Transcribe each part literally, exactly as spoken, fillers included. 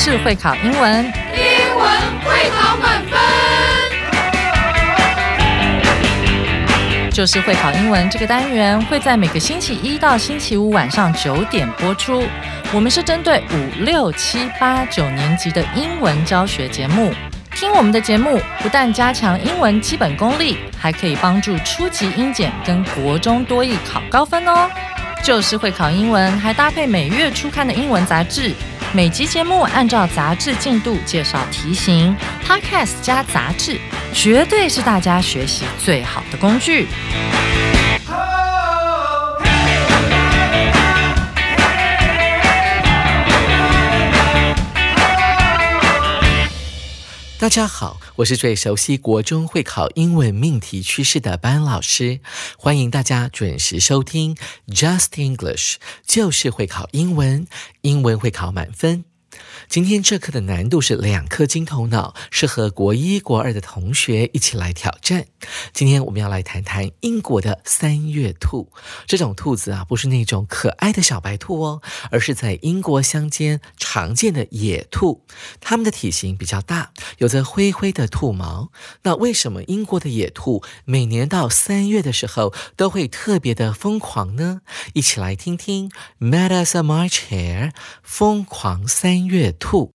就是会考英文， 英文会考满分。 就是会考英文这个单元会在每个星期一到星期五晚上九点播出。我们是针对五六七八九年级的英文教学节目。听我们的节目，不但加强英文基本功力，还可以帮助初级英检跟国中多益考高分哦。就是会考英文，还搭配每月初刊的英文杂志。每集节目按照杂志进度介绍题型 ，Podcast 加杂志，绝对是大家学习最好的工具。 大家好，我是最熟悉国中会考英文命题趋势的班老师，欢迎大家准时收听 Just English， 就是会考英文，英文会考满分。今天这课的难度是两颗金头脑，适合国一国二的同学一起来挑战。今天我们要来谈谈英国的三月兔。这种兔子啊，不是那种可爱的小白兔哦，而是在英国乡间常见的野兔。它们的体型比较大，有着灰灰的兔毛。那为什么英国的野兔每年到三月的时候都会特别的疯狂呢？一起来听听 Mad as a March Hare， 疯狂三月兔。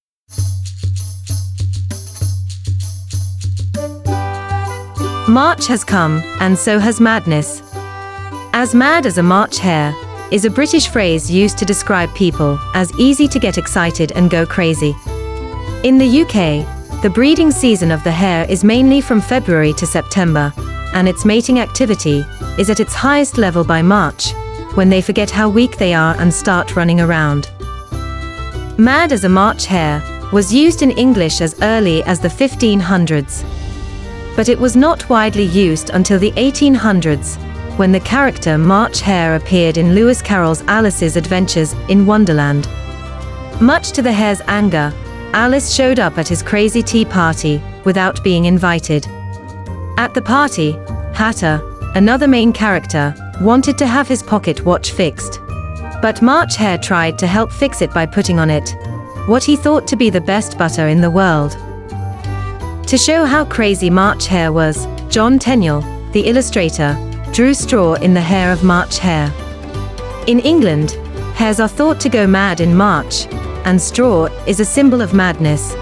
March has come, and so has madness. As mad as a March hare is a British phrase used to describe people as easy to get excited and go crazy. In the U K, the breeding season of the hare is mainly from February to September, and its mating activity is at its highest level by March, when they forget how weak they are and start running around. Mad as a March hare was used in English as early as the fifteen hundreds. But it was not widely used until the eighteen hundreds, when the character March Hare appeared in Lewis Carroll's Alice's Adventures in Wonderland. Much to the hare's anger, Alice showed up at his crazy tea party without being invited. At the party, Hatter, another main character, wanted to have his pocket watch fixed. But March Hare tried to help fix it by putting on it what he thought to be the best butter in the world. To show how crazy March Hare was, John Tenniel, the illustrator, drew straw in the hair of March Hare. In England, hares are thought to go mad in March, and straw is a symbol of madness.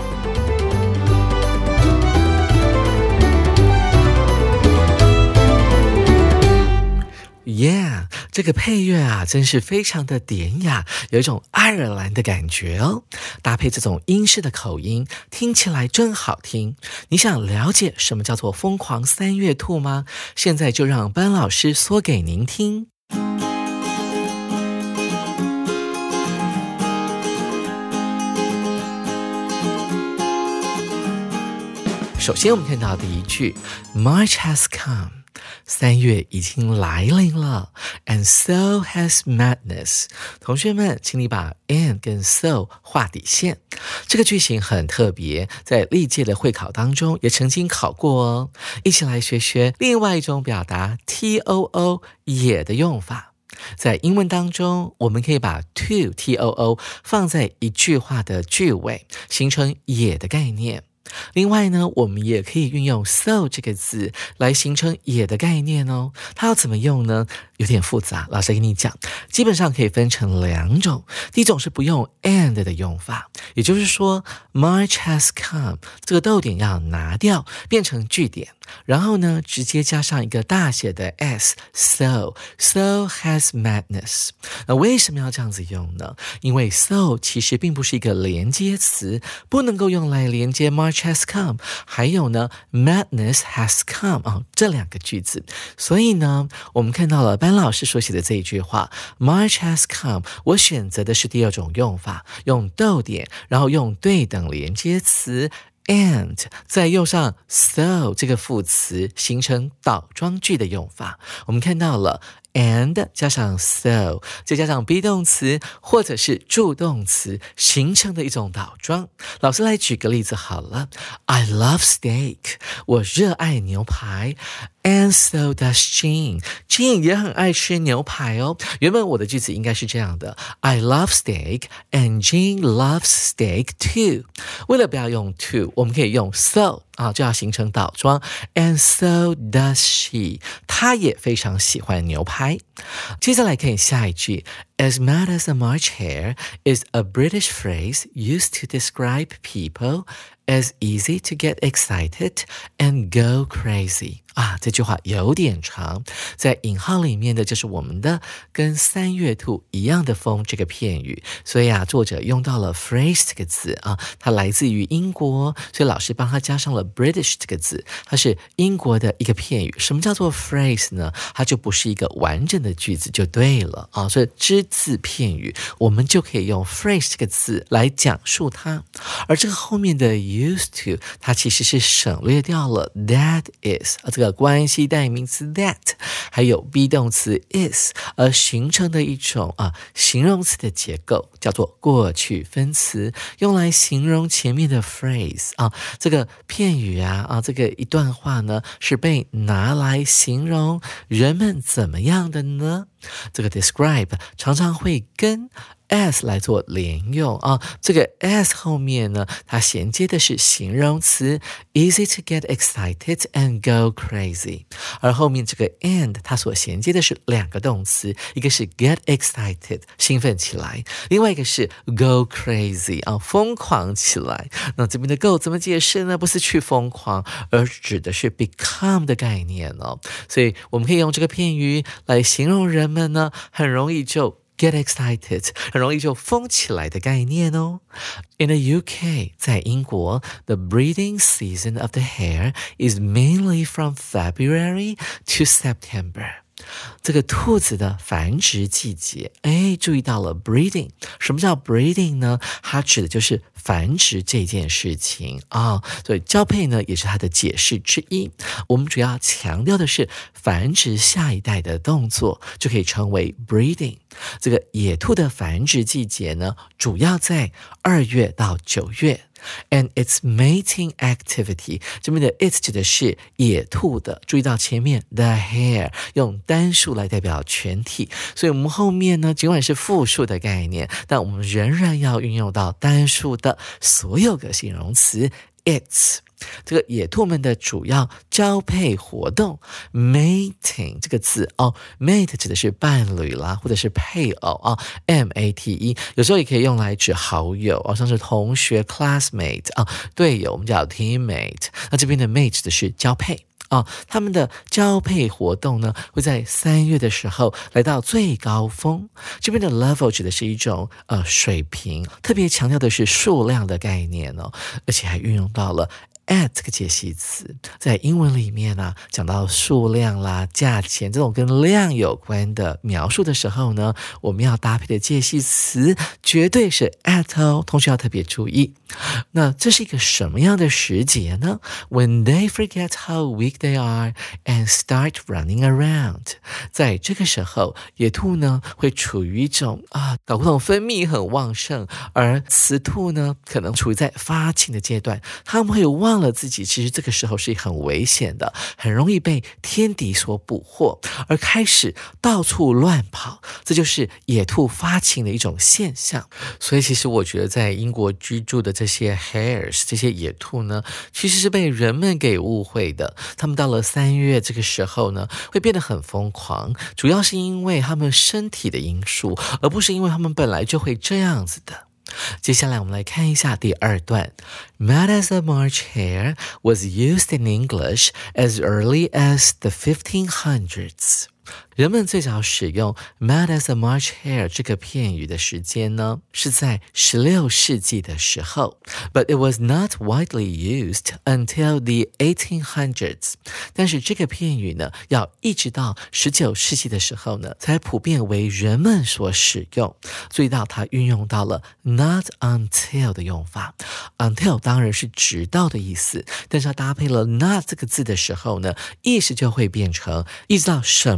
Yeah， 这个配乐啊，真是非常的典雅，有一种爱尔兰的感觉哦。搭配这种英式的口音，听起来真好听。你想了解什么叫做疯狂三月兔吗？现在就让班老师说给您听。首先我们看到第一句 March has come，三月已经来临了 ，and so has madness。同学们，请你把 and 跟 so 画底线。这个句型很特别，在历届的会考当中也曾经考过哦。一起来学学另外一种表达 too 也的用法。在英文当中，我们可以把 to too 放在一句话的句尾，形成也的概念。另外呢，我们也可以运用 so 这个字来形成也的概念哦。它要怎么用呢？有点复杂，老师跟你讲，基本上可以分成两种。第一种是不用 and 的用法，也就是说 March has come 这个逗点要拿掉，变成句点，然后呢直接加上一个大写的 s， so so has madness。 那为什么要这样子用呢？因为 so 其实并不是一个连接词，不能够用来连接 March has come， 还有呢 madness has come、哦、这两个句子。所以呢我们看到了班老师所写的这一句话 March has come， 我选择的是第二种用法，用逗点，然后用对等连接词and 再用上 so 这个副词，形成倒装句的用法。我们看到了 and 加上 so 再加上 be 动词或者是助动词形成的一种倒装。老师来举个例子好了， I love steak， 我热爱牛排， And so does Jean. Jean 也很爱吃牛排哦。原本我的句子应该是这样的 I love steak and Jean loves steak too. 为了不要用 to 我们可以用 so 啊，就要形成倒装 And so does she. 她也非常喜欢牛排。接下来看下一句 As mad as a March hare is a British phrase used to describe people as easy to get excited and go crazy. 啊，这句话有点长，在引号里面的就是我们的跟三月兔一样的风这个片语，所以啊，作者用到了 phrase 这个字啊，它来自于英国，所以老师帮他加上了 British 这个字，它是英国的一个片语。什么叫做 phrase 呢？它就不是一个完整的句子就对了啊，所以只字片语，我们就可以用 phrase 这个字来讲述它。而这个后面的 used to 它其实是省略掉了 that is 啊，这个关系代名词 that 还有 be 动词 is 而形成的一种啊形容词的结构，叫做过去分词，用来形容前面的 phrase 啊，这个片语啊啊这个一段话呢是被拿来形容人们怎么样的呢？这个 describe 常常会跟as 来做连用啊，这个 as 后面呢，它衔接的是形容词 easy to get excited and go crazy， 而后面这个 and 它所衔接的是两个动词，一个是 get excited 兴奋起来，另外一个是 go crazy 啊疯狂起来。那这边的 go 怎么解释呢？不是去疯狂，而指的是 become 的概念哦。所以我们可以用这个片语来形容人们呢，很容易就get excited 很容易就疯起来的概念哦。In the U K 在英国 the breeding season of the hare is mainly from February to September。 这个兔子的繁殖季节，哎，注意到了 breeding。 什么叫 breeding 呢？它指的就是繁殖这件事情啊、哦，所以交配呢也是它的解释之一。我们主要强调的是繁殖下一代的动作，就可以称为 breeding。 这个野兔的繁殖季节呢，主要在二月到九月。And its mating activity 这边的 it 指的是野兔的，注意到前面 the hare 用单数来代表全体，所以我们后面呢尽管是复数的概念，但我们仍然要运用到单数的所有个形容词 its。这个野兔们的主要交配活动 mating 这个字哦 mate 指的是伴侣啦，或者是配偶啊、哦、M A T E 有时候也可以用来指好友哦，像是同学 classmate 啊、哦、队友我们叫 teammate。 那这边的 mate 指的是交配哦，他们的交配活动呢，会在三月的时候来到最高峰。这边的 level 指的是一种呃水平，特别强调的是数量的概念哦，而且还运用到了at 这个介系词，在英文里面啊，讲到数量啦、价钱这种跟量有关的描述的时候呢，我们要搭配的介系词绝对是 at 哦，同学要特别注意。那这是一个什么样的时节呢？ When they forget how weak they are and start running around。 在这个时候，野兔呢会处于一种啊睾固酮分泌很旺盛，而雌兔呢可能处于在发情的阶段，他们会忘了自己其实这个时候是很危险的，很容易被天敌所捕获，而开始到处乱跑，这就是野兔发情的一种现象。所以其实我觉得在英国居住的这些 hares 这些野兔呢，其实是被人们给误会的。他们到了三月这个时候呢，会变得很疯狂，主要是因为他们身体的因素，而不是因为他们本来就会这样子的。接下来我们来看一下第二段。 Mad as a March hare was used in English as early as the fifteen hundreds。 人们最早使用 mad as a March hare 这个片语的时间呢，是在十六世纪的时候， but it was not widely used until the eighteen hundreds。 但是这个片语呢，要一直到十九世纪的时候呢，才普遍为人们所使用。注意到它运用到了 not until 的用法， until 当然是直到的意思，但是它搭配了 not 这个字的时候呢，意思就会变成一直到什么时候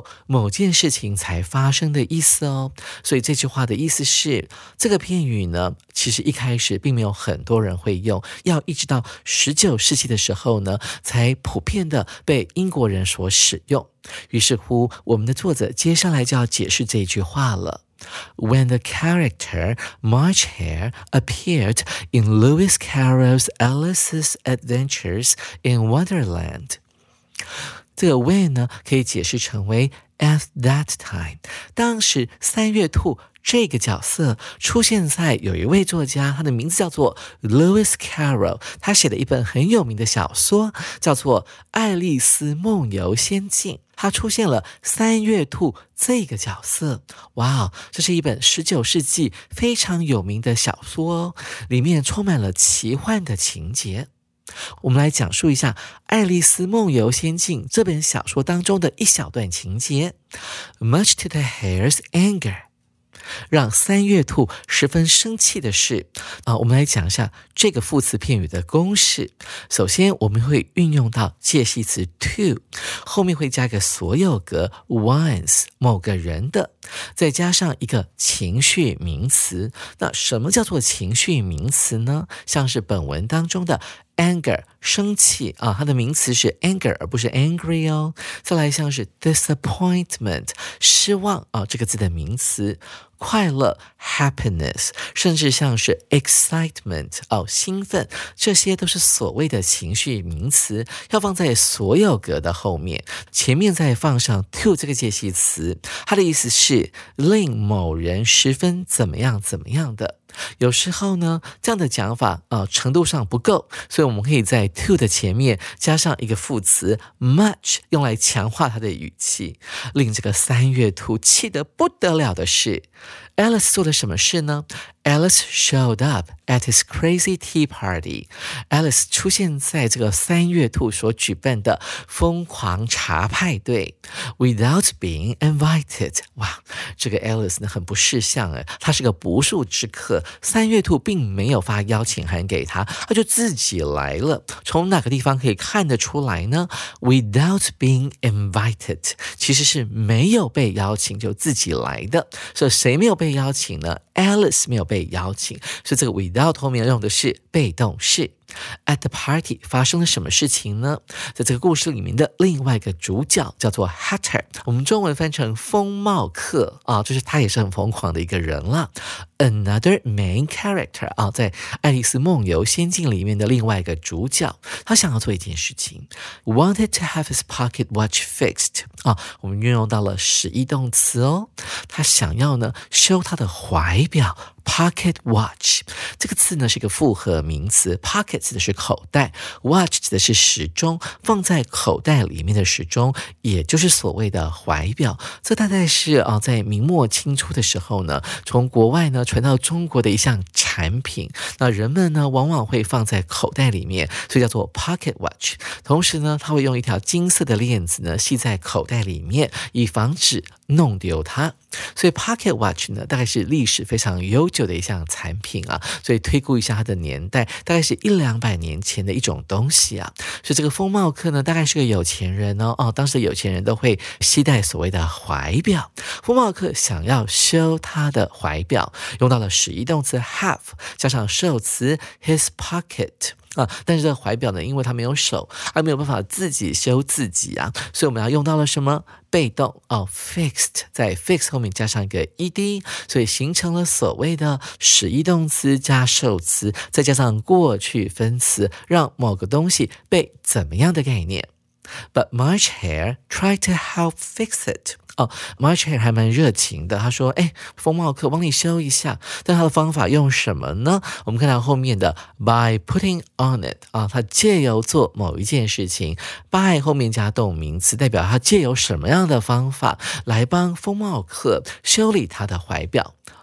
后某件事情才发生的意思哦。所以这句话的意思是，这个片语呢，其实一开始并没有很多人会用，要一直到十九世纪的时候呢，才普遍的被英国人所使用。于是乎，我们的作者接下来就要解释这句话了。When the character March Hare appeared in Lewis Carroll's Alice's Adventures in Wonderland， 这个 when 呢可以解释成为 at that time， 当时三月兔这个角色出现在有一位作家，他的名字叫做 Lewis Carroll， 他写了一本很有名的小说，叫做《爱丽丝梦游仙境》。他出现了三月兔这个角色，哇，这是一本十九世纪非常有名的小说哦，里面充满了奇幻的情节。我们来讲述一下《爱丽丝梦游仙境》这本小说当中的一小段情节。Much to the hare's anger，让三月兔十分生气的是啊，我们来讲一下这个副词片语的公式。首先我们会运用到介系词 to， 后面会加个所有格 one's 某个人的，再加上一个情绪名词。那什么叫做情绪名词呢？像是本文当中的anger 生气啊，它的名词是 anger 而不是 angry 哦。再来像是 disappointment 失望啊，这个字的名词。快乐 happiness， 甚至像是 excitement 哦，兴奋，这些都是所谓的情绪名词，要放在所有格的后面，前面再放上 to 这个介系词，它的意思是令某人十分怎么样怎么样的。有时候呢，这样的讲法呃程度上不够，所以我们可以在 to 的前面加上一个副词 much， 用来强化它的语气。令这个三月兔气得不得了的是 Alice 做了什么事呢？ Alice showed up at his crazy tea party。 Alice 出现在这个三月兔所举办的疯狂茶派对 without being invited。 哇，这个 Alice 呢很不识相诶，他是个不速之客，三月兔并没有发邀请函给他，他就自己来了。从哪个地方可以看得出来呢？ without being invited 其实是没有被邀请就自己来的。所以谁没有被邀请呢？ Alice 没有被邀请，所以这个 without 后面用的是被动式。At the party 发生了什么事情呢？在这个故事里面的另外一个主角叫做 Hatter， 我们中文翻成疯帽客啊，就是他也是很疯狂的一个人啦。Another main character 啊，在爱丽丝梦游仙境里面的另外一个主角，他想要做一件事情 ，wanted to have his pocket watch fixed 啊，我们运用到了使役动词哦，他想要呢修他的怀表。Pocket watch 这个词呢是一个复合名词， pocket 指的是口袋， watch 指的是时钟，放在口袋里面的时钟，也就是所谓的怀表。这大概是啊，在明末清初的时候呢，从国外呢传到中国的一项产品，那人们呢往往会放在口袋里面，所以叫做 pocket watch。 同时呢，他会用一条金色的链子呢系在口袋里面，以防止弄丢它。所以 pocket watch 呢大概是历史非常悠久的一项产品啊，所以推估一下它的年代，大概是一两百年前的一种东西啊。所以这个疯帽客呢大概是个有钱人哦，哦，当时的有钱人都会携带所谓的怀表。疯帽客想要修他的怀表，用到了使役动词 have 加上受词 his pocket。啊，但是这个怀表呢，因为它没有手，它没有办法自己修自己啊，所以我们要用到了什么？被动哦 ，fixed， 在 fix 后面加上一个 ed， 所以形成了所谓的使役动词加受词，再加上过去分词，让某个东西被怎么样的概念。But March Hare tried to help fix it。哦 March Hare 还蛮热情的，他说哎，疯帽客帮你修一下，但他的方法用什么呢？我们看到后面的 by putting on it 啊，他借由做某一件事情， by 后面加动名词，代表他借由什么样的方法来帮疯帽客修理他的怀表。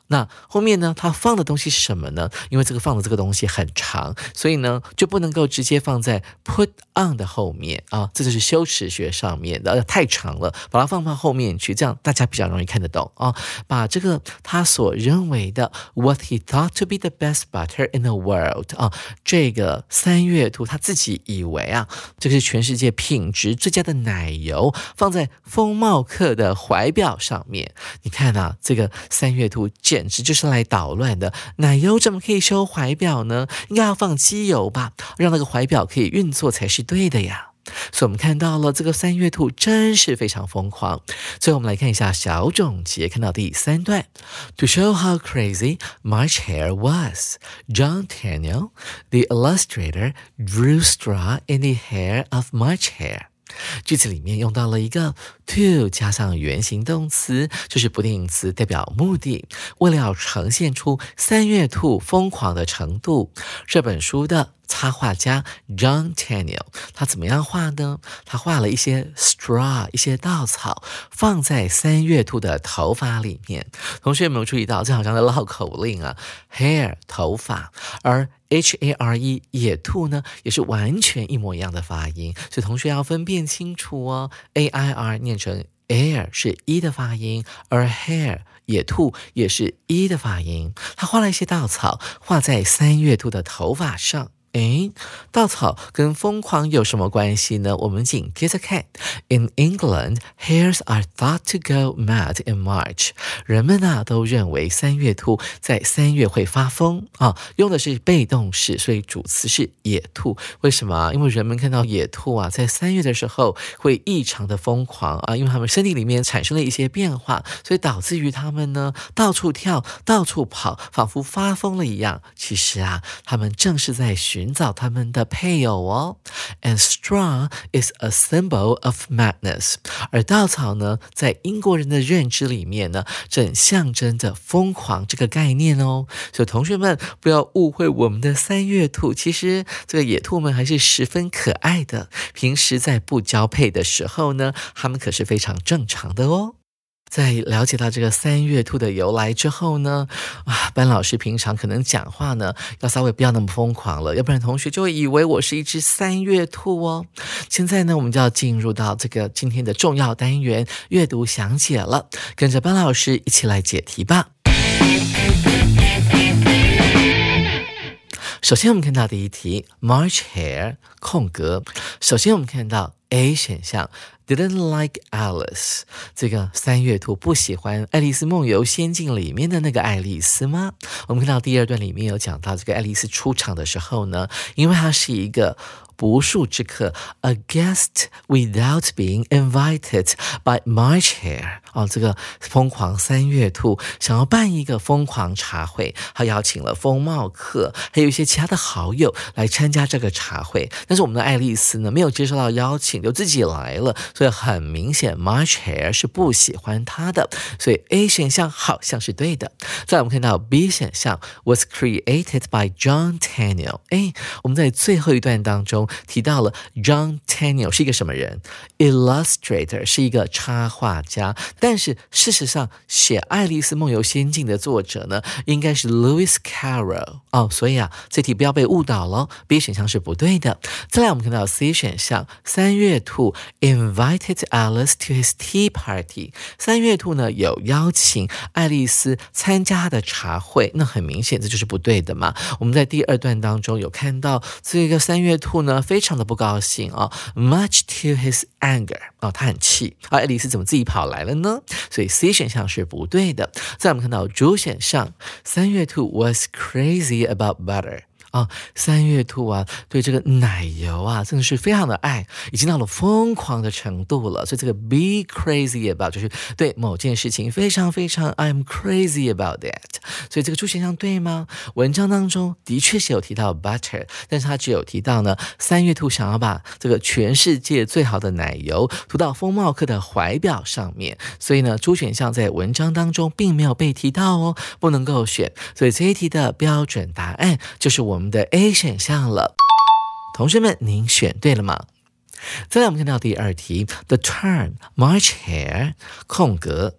那后面呢，它放的东西是什么呢？因为这个放的这个东西很长，所以呢就不能够直接放在 put on 的后面啊，这就是修辞学上面的，太长了，把它放到后面去，这样大家比较容易看得懂啊。把这个他所认为的 what he thought to be the best butter in the world 啊，这个三月兔他自己以为啊，这个是全世界品质最佳的奶油，放在风貌课的怀表上面。你看啊，这个三月兔简直就是来捣乱的，奶油怎么可以修怀表呢？应该要放机油吧，让那个怀表可以运作才是对的呀。所以我们看到了这个三月兔真是非常疯狂。最后我们来看一下小总结，看到第三段 To show how crazy March Hare was, John Tenniel, the illustrator, drew straw in the hair of March Hare。句子里面用到了一个 to 加上原形动词，就是不定词，代表目的。为了要呈现出三月兔疯狂的程度，这本书的插画家 John Tenniel 他怎么样画呢？他画了一些 straw 一些稻草放在三月兔的头发里面。同学有没有注意到，这好像在绕口令啊 hair 头发，而 H A R E 野兔呢也是完全一模一样的发音，所以同学要分辨清楚哦。 A I R 念成 air 是 e 的发音，而 hair 野兔也是 e 的发音。他画了一些稻草画在三月兔的头发上。诶，稻草跟疯狂有什么关系呢？我们紧接着看 In England, hares are thought to go mad in March. 人们啊都认为三月兔在三月会发疯啊，用的是被动式，所以主词是野兔。为什么？因为人们看到野兔啊在三月的时候会异常的疯狂啊，因为他们身体里面产生了一些变化，所以导致于他们呢到处跳到处跑，仿佛发疯了一样。其实啊他们正是在寻寻找他们的配偶哦。And straw is a symbol of madness. 而稻草呢，在英国人的认知里面呢，正象征着疯狂这个概念哦。所以同学们不要误会我们的三月兔，其实这个野兔们还是十分可爱的。平时在不交配的时候呢，它们可是非常正常的哦。在了解到这个三月兔的由来之后呢，啊，班老师平常可能讲话呢，要稍微不要那么疯狂了，要不然同学就会以为我是一只三月兔哦。现在呢，我们就要进入到这个今天的重要单元阅读详解了，跟着班老师一起来解题吧。首先我们看到第一题 March Hare 空格，首先我们看到 A 选项Didn't like Alice， 这个三月兔不喜欢《爱丽丝梦游仙境》里面的那个爱丽丝吗？我们看到第二段里面有讲到这个爱丽丝出场的时候呢，因为她是一个不速之客 ，a guest without being invited by March Hare。哦，这个疯狂三月兔想要办一个疯狂茶会，他邀请了风貌课，还有一些其他的好友来参加这个茶会。但是我们的爱丽丝呢，没有接受到邀请，就自己来了，所以很明显 March Hare 是不喜欢他的，所以 A 选项好像是对的。再来我们看到 B 选项 was created by John Tenniel。哎，我们在最后一段当中提到了 John Tenniel 是一个什么人 ？Illustrator 是一个插画家。但是事实上，写《爱丽丝梦游仙境》的作者呢，应该是 Lewis Carroll 哦，所以啊，这题不要被误导了 ，B 选项是不对的。再来，我们看到 C 选项，三月兔 invited Alice to his tea party。三月兔呢有邀请爱丽丝参加他的茶会，那很明显这就是不对的嘛。我们在第二段当中有看到这个三月兔呢，非常的不高兴啊、哦、，much to his anger 啊、哦，他很气啊，爱丽丝怎么自己跑来了呢？所以 C 选项是不对的。再我们看到主选项，三月兔 was crazy about butter。啊、哦，三月兔啊，对这个奶油啊，真的是非常的爱，已经到了疯狂的程度了。所以这个 be crazy about 就是对某件事情非常非常 I'm crazy about that。所以这个主选项对吗？文章当中的确是有提到 butter， 但是他只有提到呢，三月兔想要把这个全世界最好的奶油涂到风貌课的怀表上面，所以呢，主选项在文章当中并没有被提到哦，不能够选。所以这一题的标准答案就是我们我们的 A 选项了。同学们，您选对了吗？再来我们看到第二题 The term March Hare 空格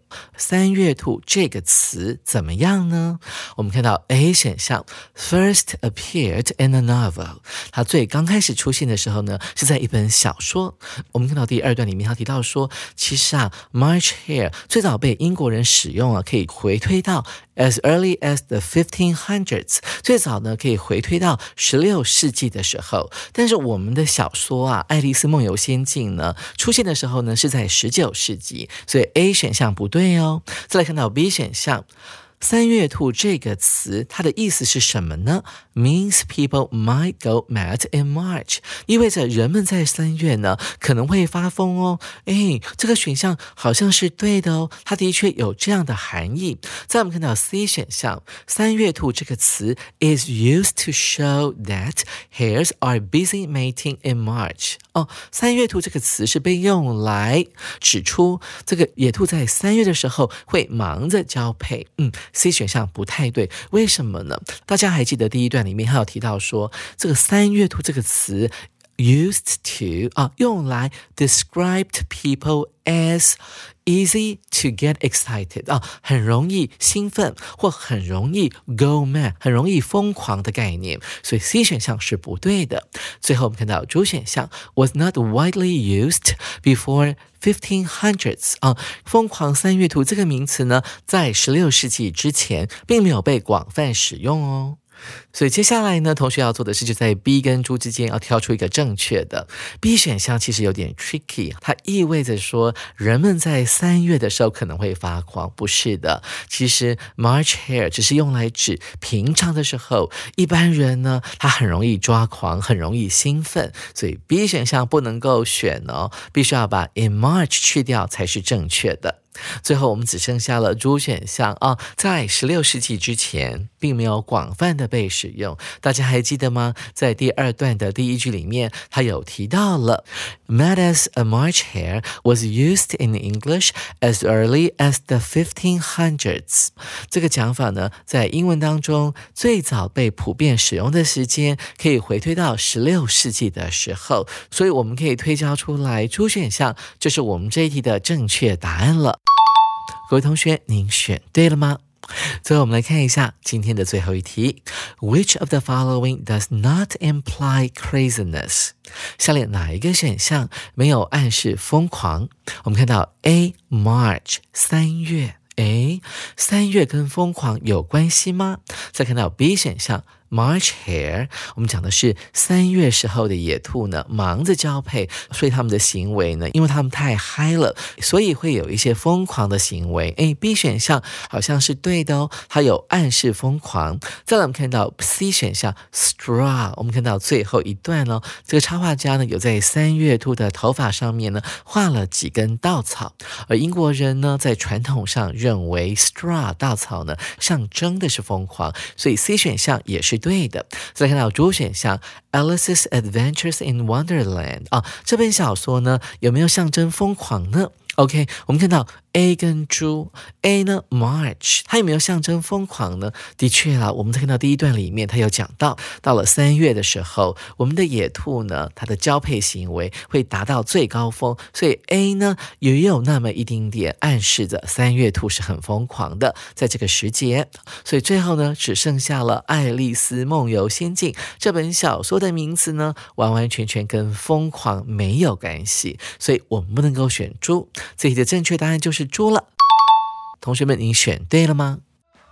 三月兔这个词怎么样呢？我们看到 A 选项 first appeared in a novel， 它最刚开始出现的时候呢，是在一本小说。我们看到第二段里面，它提到说，其实啊 March hare 最早被英国人使用啊，可以回推到 as early as the fifteen hundreds， 最早呢可以回推到十六世纪的时候。但是我们的小说啊，《爱丽丝梦游仙境》呢，出现的时候呢是在十九世纪，所以 A 选项不对哦。再来看到 B 选项。三月兔这个词它的意思是什么呢？ Means people might go mad in March， 意味着人们在三月呢可能会发疯哦。诶，这个选项好像是对的哦，它的确有这样的含义。再我们看到 C 选项，三月兔这个词 is used to show that hares are busy mating in March。 哦，三月兔这个词是被用来指出这个野兔在三月的时候会忙着交配。嗯C 选项不太对，为什么呢？大家还记得第一段里面还有提到说，这个三月兔这个词 used to 啊，用来 described people as easy to get excited 啊，很容易兴奋或很容易 go mad， 很容易疯狂的概念，所以 C 选项是不对的。最后我们看到 D 选项 was not widely used before fifteen hundreds 啊，疯狂三月兔这个名词呢，在十六世纪之前并没有被广泛使用哦。所以接下来呢，同学要做的是就在 B 跟猪之间要挑出一个正确的。 B 选项其实有点 tricky， 它意味着说人们在三月的时候可能会发狂，不是的。其实 March hare 只是用来指平常的时候，一般人呢他很容易抓狂，很容易兴奋，所以 B 选项不能够选哦，必须要把 in March 去掉才是正确的。最后我们只剩下了猪选项啊，在十六世纪之前并没有广泛的被使用。大家还记得吗？在第二段的第一句里面，它有提到了 Mad as a March hare was used in English as early as the fifteen hundreds。 这个讲法呢，在英文当中最早被普遍使用的时间可以回推到十六世纪的时候，所以我们可以推敲出来猪选项就是我们这一题的正确答案了。各位同学，您选对了吗？最后我们来看一下今天的最后一题 Which of the following does not imply craziness？ 下列哪一个选项没有暗示疯狂？我们看到 A March 三月，诶，三月跟疯狂有关系吗？再看到 B 选项March hare， 我们讲的是三月时候的野兔呢，忙着交配，所以他们的行为呢，因为他们太嗨了，所以会有一些疯狂的行为。诶 B 选项好像是对的哦，它有暗示疯狂。再来我们看到 C 选项 straw， 我们看到最后一段哦，这个插画家呢有在三月兔的头发上面呢画了几根稻草，而英国人呢在传统上认为 straw 稻草呢象征的是疯狂，所以 C 选项也是对的。再看到主选项 Alice's Adventures in Wonderland 啊，这本小说呢有没有象征疯狂呢？ OK， 我们看到 A 跟猪 A 呢 March 它有没有象征疯狂呢？的确啦，我们在看到第一段里面它有讲到，到了三月的时候，我们的野兔呢它的交配行为会达到最高峰，所以 A 呢也有那么一丁点暗示着三月兔是很疯狂的在这个时节。所以最后呢只剩下了爱丽丝梦游仙境这本小说的名字呢完完全全跟疯狂没有关系，所以我们不能够选猪。这题的正确答案就是猪了。同学们，您选对了吗？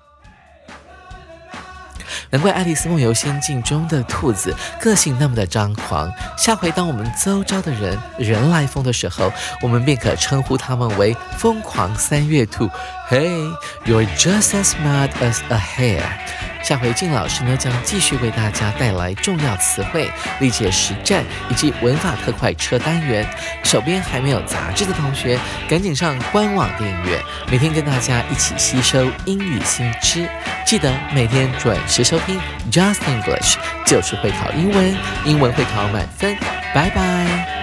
难怪爱丽丝梦游仙境中的兔子个性那么的张狂，下回当我们周遭的人人来疯的时候，我们便可称呼他们为疯狂三月兔。 Hey, you're just as mad as a hare。 下回靳老师呢将继续为大家带来重要词汇、历届实战以及文法特快车单元。手边还没有杂志的同学，赶紧上官网订阅，每天跟大家一起吸收英语新知。记得每天准时收听 Just English， 就是会考英文，英文会考满分。拜拜。